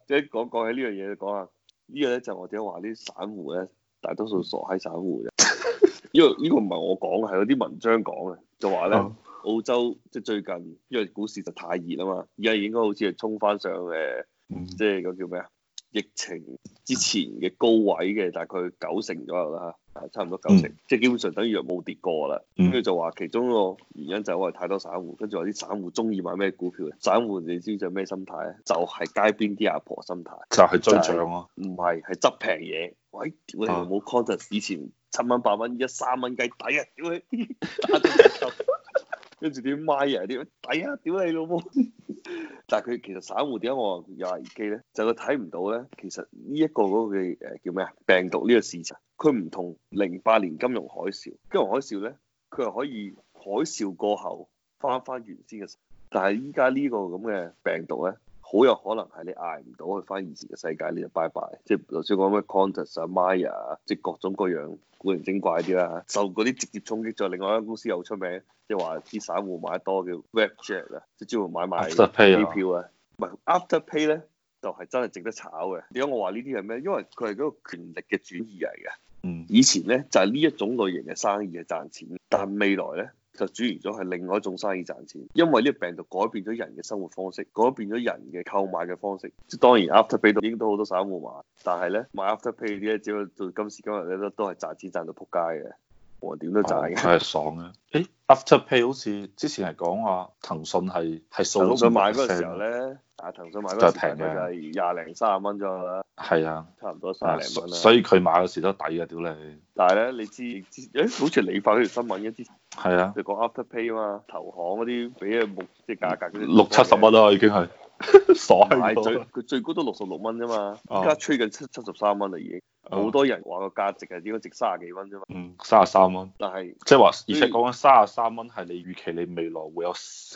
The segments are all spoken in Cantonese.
即係講起呢樣嘢，講下呢個咧就我點解話啲散戶咧，大多數傻閪散戶嘅，因為呢個唔係我講嘅，係有啲文章講嘅，就話咧澳洲即係最近因為股市就太熱啊嘛，而家應該好似係衝翻上即係嗰叫咩啊？疫情之前嘅高位嘅大概90%左右啦嚇，差唔多90%，即係基本上等於冇跌過啦。跟住就話其中一個原因就係因為太多散戶，跟住話啲散戶中意買咩股票？散戶你知唔知咩心態咧？就係街邊啲阿婆心態， 就係追漲咯。 唔係，係執平嘢。喂，屌你老母 Qantas 以前7蚊8蚊，依家3蚊雞抵啊！屌你，打咗折頭，跟住啲 Myer 啲抵啊！屌你老母！但係佢其實散戶點解我話有危機咧？就佢睇唔到咧，其實呢一個嗰個嘅叫咩啊？病毒呢個事情，佢唔同08年金融海嘯。金融海嘯咧，佢係可以海嘯過後翻原先嘅，但係依家呢個咁嘅病毒咧，好有可能係你捱唔到去翻以前嘅世界，你就拜拜。即係頭先講咩 Qantas 啊、Myer 啊，即係各種各樣古靈精怪啲啦，受嗰啲直接衝擊咗。另外一間公司又出名，即係話啲散戶買得多叫 Webjet 啊，即係專門買賣機票啊。唔係 Afterpay 咧，就係真係值得炒嘅。點解我話呢啲係咩？因為佢係嗰個權力嘅轉移嚟嘅。以前咧就係呢一種類型嘅生意係賺錢，但係未來咧就轉移咗係另外一種生意賺錢。因為呢個病毒改變咗人嘅生活方式，改變咗人嘅購買嘅方式。即係當然 Afterpay 都已經都好多散戶買，但係咧買 Afterpay 啲咧，只要到今時今日咧都係賺錢賺到撲街嘅。我點都賺嘅， 係爽嘅。Afterpay 好似之前係講話騰訊係掃騰訊買嗰個時候咧，騰訊買嗰時平嘅就係20零30蚊左右啦。 係啊， 差唔多30零蚊啦。 所以佢買嗰時都抵嘅，屌你！ 但係咧，你知好似你發嗰條新聞嘅之前， 係啊， 就講 Afterpay 啊嘛，投行嗰啲俾嘅目即係價格嗰啲 60-70蚊啦，已經係爽咗。 佢最高都66蚊啫嘛，而家吹緊73蚊啦已經。好多人話個價值係應該值30幾蚊啫嘛。 33蚊。 但係即係話，而且講緊33蚊係你預期你未來會有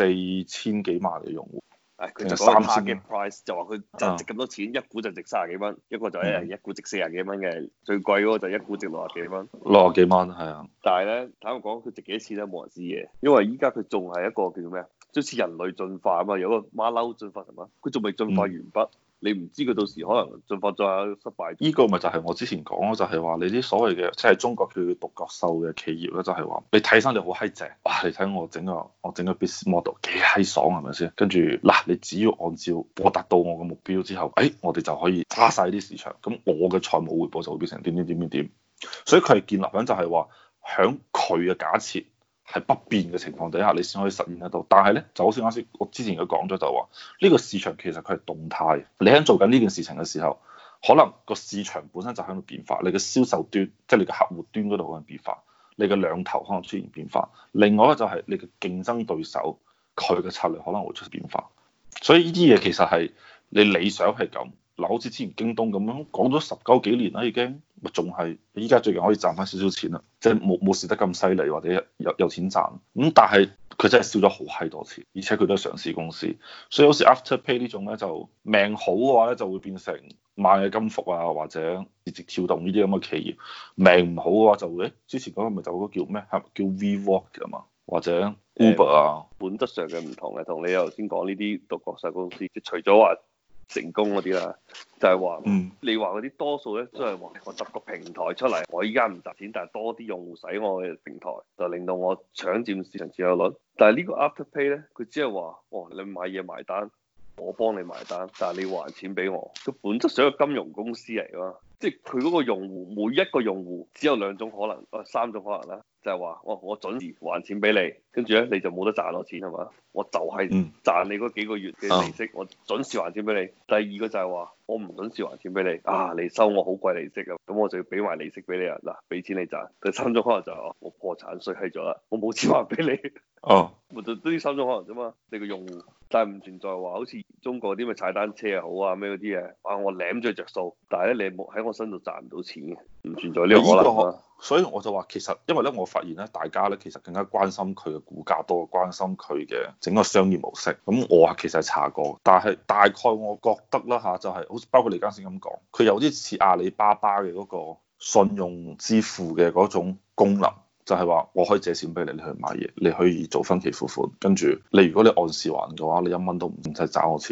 4000幾萬嘅用戶。 佢就講 target price 就話佢就值咁多錢，一股就值30幾蚊，一個就一股值40幾蚊嘅，最貴嗰個就一股值60幾蚊。 60幾蚊係啊。 但係咧，坦白講，佢值幾多錢咧，冇人知嘅，因為依家佢仲係一個叫做咩啊，好似人類進化啊嘛，有個馬騮進化係嘛，佢仲未進化完畢。你唔知佢到時可能進化再失敗。 呢個咪就係我之前講咯，就係話你啲所謂嘅即係中國叫獨角獸嘅企業咧，就係話你睇上嚟好閪正，哇！你睇我整個 business model 幾閪爽係咪先？跟住嗱，你只要按照我達到我嘅目標之後，我哋就可以揸晒啲市場，咁我嘅財務回報就會變成點點點點點。所以佢係建立緊就係話，響佢嘅假設係不變嘅情況底下，你先可以實現得到。但係咧，就好似啱先我之前都講咗，就話呢個市場其實佢係動態。你喺做緊呢件事情嘅時候，可能個市場本身就喺度變化，你嘅銷售端，即係你嘅客戶端嗰度可能變化，你嘅兩頭可能出現變化。另外一個就係你嘅競爭對手，佢嘅策略可能會出現變化。所以呢啲嘢其實係你理想係咁。嗱，好似之前京東咁樣講咗10幾年啦，已經咪仲係依家最近可以賺翻少少錢啦，即係冇蝕得咁犀利，或者有錢賺。咁但係佢真係少咗好閪多錢，而且佢都係上市公司，所以好似 Afterpay 呢種咧，就命好嘅話咧就會變成螞蟻金服啊，或者字節跳動呢啲咁嘅企業。命唔好嘅話就會之前嗰個咪就嗰個叫咩？係叫 WeWork 啊嘛，或者 Uber 啊。 本質上嘅唔同嘅，同你頭先講呢啲獨角獸公司，即係除咗話成功嗰啲啦，就係話，你話嗰啲多數咧都係話我搭個平台出嚟，我依家唔賺錢，但係多啲用戶使我嘅平台，就令到我搶佔市場佔有率。但係呢個 Afterpay 咧，佢只係話，你買嘢埋單，我幫你埋單，但係你還錢俾我。佢本質上係一個金融公司嚟㗎嘛，即係佢嗰個用戶每一個用戶只有2種可能，3種可能啦，就係話，我準時還錢俾你，跟住咧你就冇得賺我錢係嘛？我就係賺你嗰幾個月嘅利息，我準時還錢俾你。第二個就係話，我唔準時還錢俾你，你收我好貴利息啊，咁我就要俾埋利息俾你啊，嗱，俾錢你賺。第三種可能就係我破產衰閪咗啦，我冇錢還俾你。咪就呢3種可能啫嘛，你個用戶，但係唔存在話好似中國啲咪踩單車又好啊咩嗰啲嘢，我舐咗着數，但係咧你冇喺我身度賺唔到錢嘅，唔存在呢個可能啊。 所以我就話其實，因為咧我發現咧，大家咧其實更加關心佢嘅股價多過關心佢嘅整個商業模式。咁我其實係查過，但係大概我覺得啦嚇，就係好似包括你啱先咁講，佢有啲似阿里巴巴嘅嗰個信用支付嘅嗰種功能。就係話我可以借錢俾你，你去買嘢，你可以做分期付款，跟住你如果你按時還嘅話，你1蚊都唔使找我錢。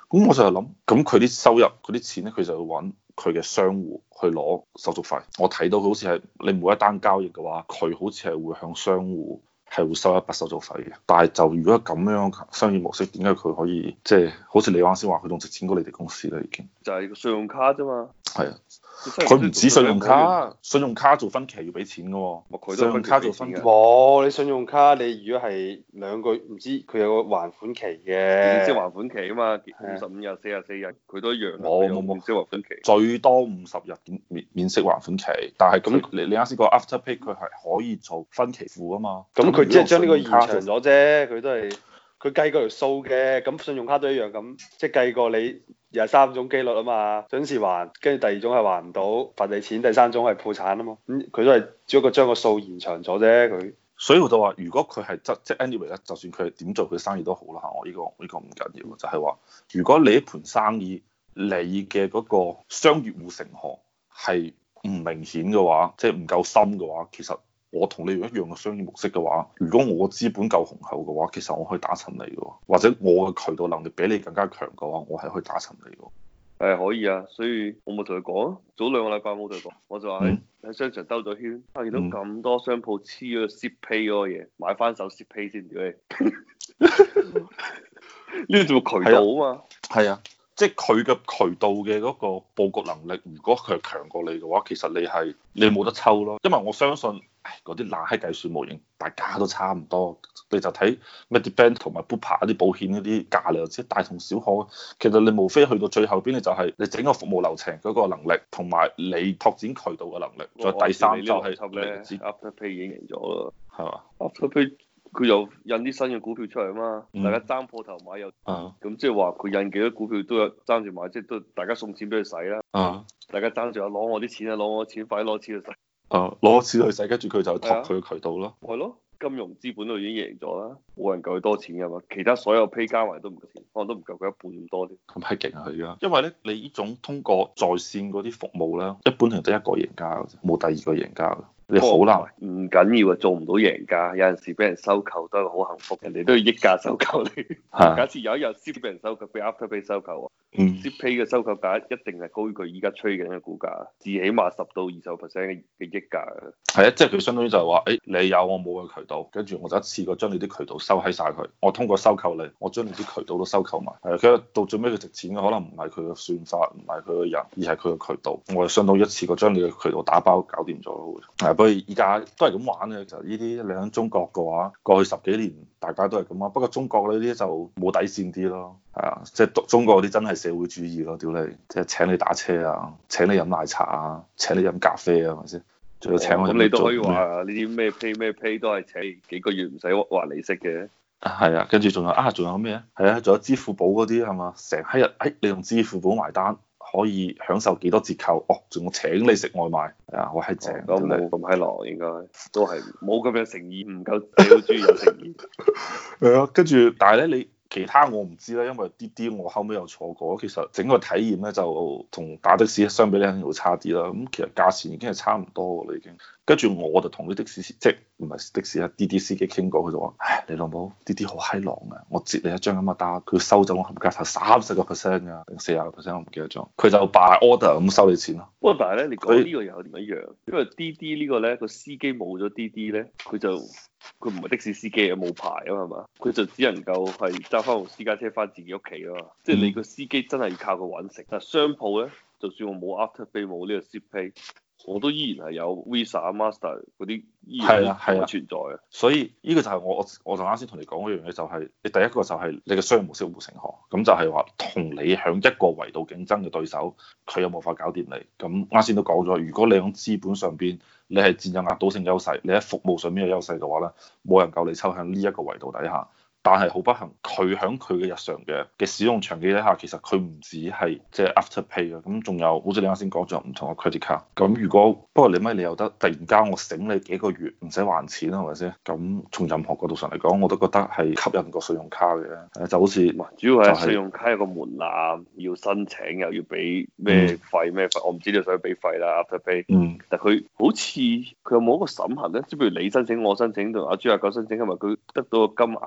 咁我就係諗，咁佢啲收入嗰啲錢咧，佢就要揾佢嘅商戶去攞手續費。我睇到佢好似係你每一單交易嘅話，佢好似係會向商戶係會收一筆手續費嘅。但係就如果咁樣商業模式，點解佢可以即係好似你啱先話，佢仲值錢過你哋公司啦已經？ 就係個信用卡啫嘛。 係啊。佢唔止信用卡，信用卡做分期要俾錢嘅喎。信用卡做分期， 冇你信用卡，你如果係2個月，唔知佢有個還款期嘅， 即係還款期啊嘛，55日、44日，佢都一樣。 冇， 即係還款期， 最多50日免息還款期。但係咁你啱先講 Afterpay 佢係可以做分期付啊嘛。 咁佢即係將呢個延長咗啫，佢都係佢計嗰條數嘅。咁信用卡都一樣咁，即係計過你。有3種機率啊嘛，準時還，跟住第2種係還唔到，罰你錢，第3種係破產啊嘛。咁佢都係只不過將個數延長咗啫，佢。 所以我就話，如果佢係即係 anyway 咧，就算佢係點做佢生意都好啦嚇。我呢個唔緊要，就係話，如果你一盤生意你嘅嗰個商業護城河係唔明顯嘅話，即係唔夠深嘅話，其實我同你用一樣嘅商業模式嘅話，如果我資本夠雄厚嘅話，其實我可以打沉你嘅，或者我嘅渠道能力比你更加強嘅話，我係可以打沉你嘅。 可以啊，所以我咪同佢講，早2個禮拜冇同佢講，我就話喺商場兜咗圈，見到咁多商鋪黐咗個 Zip Pay 嗰個嘢，買翻手 Zip Pay 先，屌你！呢個做渠道啊嘛。 係啊。即係佢嘅渠道嘅嗰個佈局能力，如果佢係強過你嘅話，其實你冇得抽咯。因為我相信，嗰啲爛閪計算模型，大家都差唔多。你就睇 Medibank 同埋 Bupa 啲保險嗰啲價，你就知大同小可。其實你無非去到最後邊，你就係你整個服務流程嗰個能力，同埋你拓展渠道嘅能力。再第3就係 Afterpay 已經贏咗啦， 係嘛 ？Afterpay 佢又印啲新嘅股票出嚟啊嘛，大家爭破頭買又，咁即係話佢印幾多股票都有爭住買，即係都大家送錢俾佢使啦。大家爭住攞我啲錢啊，攞我錢，快啲攞錢去使。 攞錢去使，跟住佢就拓佢嘅渠道咯。 係咯，金融資本都已經贏咗啦，冇人夠佢多錢噶嘛，其他所有 pay 加埋都唔夠錢，可能都唔夠佢一半咁多啲。 咁係勁啊佢而家，因為咧你呢種通過在線嗰啲服務咧，一般係得一個贏家嘅啫，冇第2個贏家嘅。你好難， 唔緊要啊，做唔到贏家，有陣時俾人收購都係好幸福，人哋都要溢價收購你。假設有一日 Zip 俾人收購，俾 Afterpay 收購，Zip Pay 嘅收購價一定係高於佢依家吹緊嘅股價，至起碼10到20%嘅溢價。 係啊，即係佢相當於就係話，你有我冇嘅渠道，跟住我就一次過將你啲渠道收喺晒佢。我通過收購你，我將你啲渠道都收購埋。係啊，其實到最尾佢值錢嘅可能唔係佢嘅算法，唔係佢嘅人，而係佢嘅渠道。我係相當於一次過將你嘅渠道打包搞掂咗咯。不過而家都係咁玩嘅，就呢啲你喺中國嘅話，過去10幾年大家都係咁啊。不過中國呢啲就冇底線啲咯，係啊，即係中國嗰啲真係社會主義咯，屌你，即係請你打車啊，請你飲奶茶啊，請你飲咖啡啊，係咪先？仲要請我。咁你都可以話呢啲咩 pay 都係請幾個月唔使還利息嘅。 係啊，跟住仲有咩啊？係啊，仲有支付寶嗰啲係嘛？成閪日你用支付寶埋單，可以享受幾多折扣？仲要請你食外賣，係啊，我係正。 咁冇咁閪狼，應該都係冇咁樣誠意，唔夠社會主義有誠意。 係啊，跟住但係咧你。其他我唔知啦，因為滴滴我後尾又坐過，其實整個體驗咧就同打的士相比咧肯定會差啲啦。咁其實價錢已經係差唔多啦已經。跟住我就同啲的士即係唔係的士啊滴滴司機傾過，佢就話：唉，你老母滴滴好閪狼啊！我截你一張咁嘅單，佢收走我冚家頭30%㗎，定40%我唔記得咗。佢就 by order 咁收你錢咯。 不過但係咧，你講呢個又唔一樣，因為滴滴呢個咧個司機冇咗滴滴咧，佢唔係的士司機啊，冇牌啊嘛，佢就只能夠係揸翻部私家車翻自己屋企啊嘛。即係你個司機真係要靠佢揾食。但係商鋪咧，就算我冇 Afterpay 冇呢個 Zip Pay，我都依然係有 Visa、Master 嗰啲依然存在啊。 所以呢個就係我就啱先同你講嗰樣嘢，就係你第一個就係你嘅商業模式護城河，咁就係話同你響一個維度競爭嘅對手，佢有冇法搞掂你？咁啱先都講咗，如果你響資本上邊你係佔有壓倒性優勢，你喺服務上面嘅優勢嘅話咧，冇人夠你抽向呢一個維度底下。但係好不幸，佢喺佢嘅日常嘅使用場景底下，其實佢唔止係即係 Afterpay 嘅，咁仲有好似你啱先講咗唔同嘅 credit card。咁如果不過你又得突然間我醒你幾個月唔使還錢係咪先？咁從任何角度上嚟講，我都覺得係吸引過信用卡嘅。就好似主要係信用卡有個門檻，要申請又要俾咩費咩費，我唔知你想俾費啦 Afterpay。但佢好似佢有冇一個審核咧？即係譬如你申請、我申請同阿豬阿狗申請，係咪佢得到個金額嘅額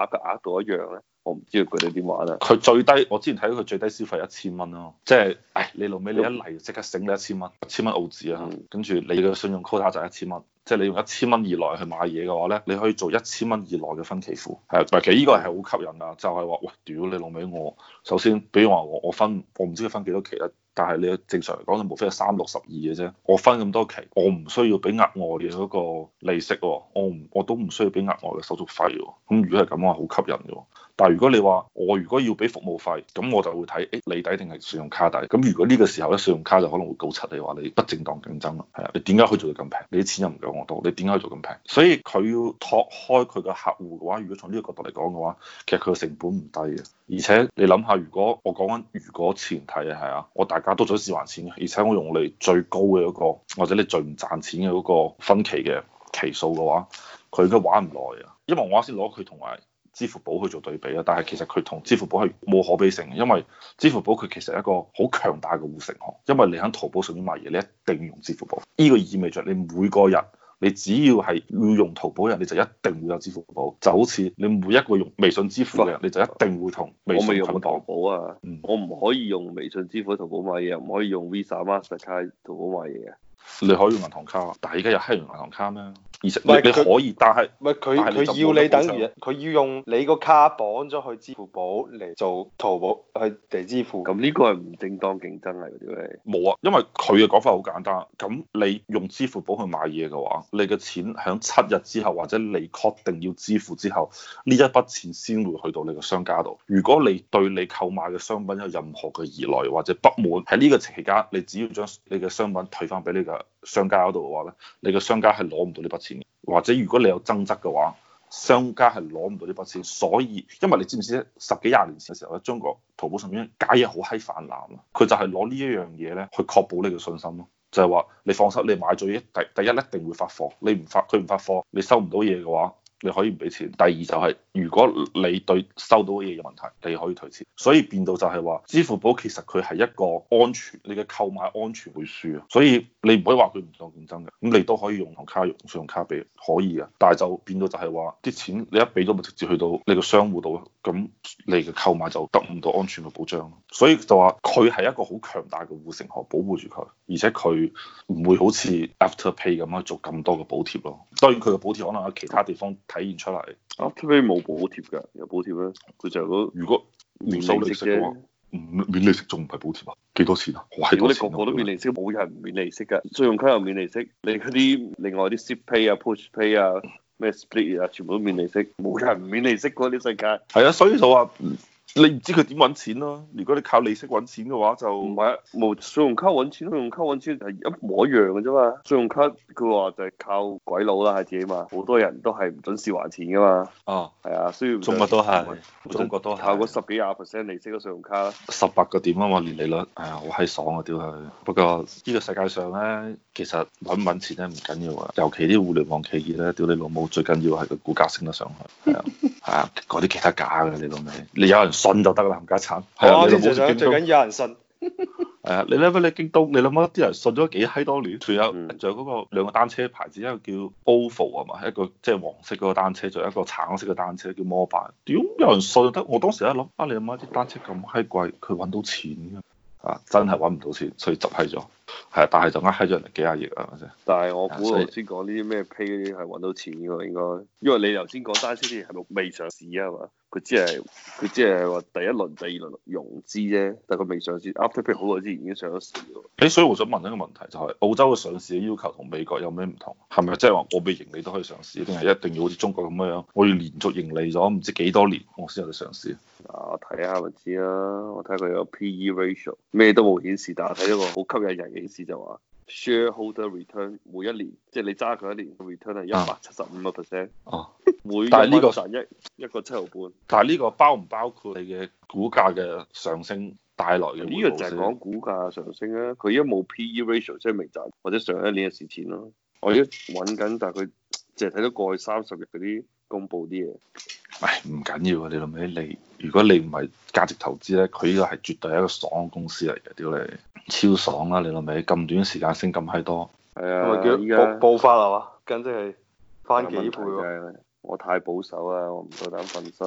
度一樣咧？我唔知佢哋點玩啊。 佢最低，我之前睇到佢最低消費1000蚊咯，即係，你老尾你一嚟即刻醒你1000蚊，1000蚊澳紙啊，跟住你嘅信用 quota 就1000蚊，即係你用1000蚊以內去買嘢嘅話咧，你可以做1000蚊以內嘅分期付，係，其實呢個係好吸引啊，就係話，喂，屌你老尾我，首先，比如話我分，我唔知佢分幾多期啦。但係你正常嚟講，就無非係362嘅啫。我分咁多期，我唔需要俾額外嘅嗰個利息喎，我都唔需要俾額外嘅手續費喎。咁如果係咁嘅話，好吸引嘅。但係如果你話我如果要俾服務費，咁我就會睇利抵定係信用卡抵。咁如果呢個時候咧，信用卡就可能會告柒你話你不正當競爭啦。係啊，你點解可以做到咁平？你啲錢又唔夠我多，你點解可以做咁平？所以佢要拓開佢嘅客戶嘅話，如果從呢個角度嚟講嘅話，其實佢嘅成本唔低嘅。而且你諗下，如果我講緊如果前提係啊，我大家都準時還錢嘅，而且我用你最高嘅嗰個，或者你最唔賺錢嘅嗰個分期嘅期數嘅話，佢應該玩唔耐啊。因為我啱先攞佢同埋支付寶去做對比啊，但係其實佢同支付寶係冇可比性嘅，因為支付寶佢其實係一個好強大嘅護城河，因為你喺淘寶上面買嘢，你一定要用支付寶。呢個意味着你每個人。你只要係要用淘寶嘅人，你就一定會有支付寶。就好似你每一個用微信支付嘅人，你就一定會同微信捆綁。 我未用淘寶啊，我唔可以用微信支付喺淘寶買嘢，唔可以用 Visa、Mastercard 淘寶買嘢嘅。 你可以用銀行卡，但係而家又係用銀行卡咩？而且你可以，但係佢要你等於佢要用你個卡綁咗去支付寶嚟做淘寶去嚟支付。 咁呢個係唔正當競爭嚟嘅啫。 冇啊，因為佢嘅講法好簡單。咁你用支付寶去買嘢嘅話，你嘅錢喺7日之後，或者你確定要支付之後，呢一筆錢先會去到你個商家度。如果你對你購買嘅商品有任何嘅疑慮或者不滿，喺呢個期間，你只要將你嘅商品退翻俾你嘅商家嗰度嘅話咧，你嘅商家係攞唔到呢筆錢嘅。或者如果你有爭執嘅話，商家係攞唔到呢筆錢。所以因為你知唔知咧，10幾20年前嘅時候咧，中國淘寶上面假嘢好閪泛濫啊，佢就係攞呢一樣嘢咧去確保你嘅信心咯。就係話你放心，你買咗嘢第一一定會發貨，佢唔發貨，你收唔到嘢嘅話，你可以唔俾錢。第二就係如果你對收到嘅嘢有問題，你可以退錢。所以變到就係話，支付寶其實佢係一個安全，你嘅購買安全會輸啊。所以你唔可以話佢唔當競爭嘅，咁你都可以用銀行卡、用信用卡俾，可以嘅。但係就變到就係話，啲錢你一俾咗咪直接去到你個商戶度，咁你嘅購買就得唔到安全嘅保障。所以就話佢係一個好強大嘅護城河，保護住佢，而且佢唔會好似 Afterpay 咁樣做咁多嘅補貼咯。當然佢嘅補貼可能喺其他地方體現出嚟。 Afterpay 冇補貼㗎，有補貼咩？佢就係如果唔收利息嘅話，免利息仲唔係補貼啊？幾多錢啊？ 如果你個個都免利息，冇人唔免利息㗎。信用卡又免利息，你嗰啲另外啲 Zip Pay 啊、Push Pay 啊、咩 Split 啊，全部都免利息，冇人唔免利息嗰啲世界。 係啊，所以就話。你唔知佢點揾錢咯？如果你靠利息揾錢嘅話就，就唔係冇信用卡揾錢，信用卡揾錢係一模一樣嘅啫嘛。信用卡佢話就係靠鬼佬啦，係自己嘛。好多人都係唔準時還錢噶嘛。 哦， 係啊，所以中國都係，中國都係靠嗰10幾20%利息嘅信用卡啦。 18個點啊嘛，年利率，係啊，好閪爽啊屌佢！不過呢個世界上咧，其實揾唔揾錢咧唔緊要啊，尤其啲互聯網企業咧，屌你老母最緊要係個股價升得上去，係啊，係啊，嗰啲其他假嘅你老味，你有人信就得啦，冚家鏟。係啊， 最緊要有人信。 係啊，你諗下你京東，你諗下啲人信咗幾閪多年，仲有嗰個兩個單車牌子，一個叫 OFO 啊嘛，一個即係黃色嗰個單車，仲有一個橙色嘅單車叫摩拜。屌有人信就得，我當時一諗啊，你諗下啲單車咁閪貴，佢揾到錢㗎？啊，真係揾唔到錢，所以執閪咗。係啊，但係就呃閪咗人哋幾廿億啊，係咪先？ 但係我估頭先講呢啲咩 pay 嗰啲係揾到錢㗎喎，應該，因為你頭先講單車啲係咪未上市啊嘛？佢只係話第一輪、第二輪融資啫，但係佢未上市。Afterpay 好耐之前已經上咗市喎。 所以我想問一個問題，就係澳洲嘅上市嘅要求同美國有咩唔同？係咪即係話我未盈利都可以上市，定係一定要好似中國咁樣，我要連續盈利咗唔知幾多年我先有得上市？ 我睇下咪知啦，我睇佢有 PE ratio，咩都冇顯示，但係睇咗個好吸引人嘅顯示就話 shareholder return 每一年，即係你揸佢一年嘅 return 係175%。 哦， 每但係呢個賺一個7毫半。 但係呢個包唔包括你嘅股價嘅上升帶來嘅？ 呢個就係講股價上升啊！佢而家冇 PE ratio，即係未賺，或者上一年嘅蝕錢咯。我而家揾緊，但係佢淨係睇到過去30日嗰啲公佈啲嘢。 唉，唔緊要啊！你諗起你，如果你唔係價值投資咧，佢呢個係絕對係一個爽嘅公司嚟嘅，屌你超爽啦！你諗起咁短時間升咁閪多， 係啊， 咪叫暴發係嘛？簡直係翻幾倍喎！ 我太保守啦，我唔夠膽瞓身。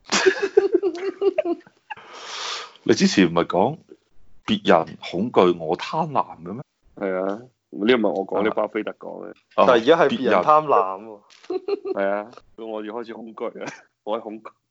你之前唔係講別人恐懼我貪婪嘅咩？ 係啊，呢個唔係我講，呢巴菲特講嘅。 但係而家係別人貪婪喎。 係啊，咁我要開始恐懼啦，我係恐懼。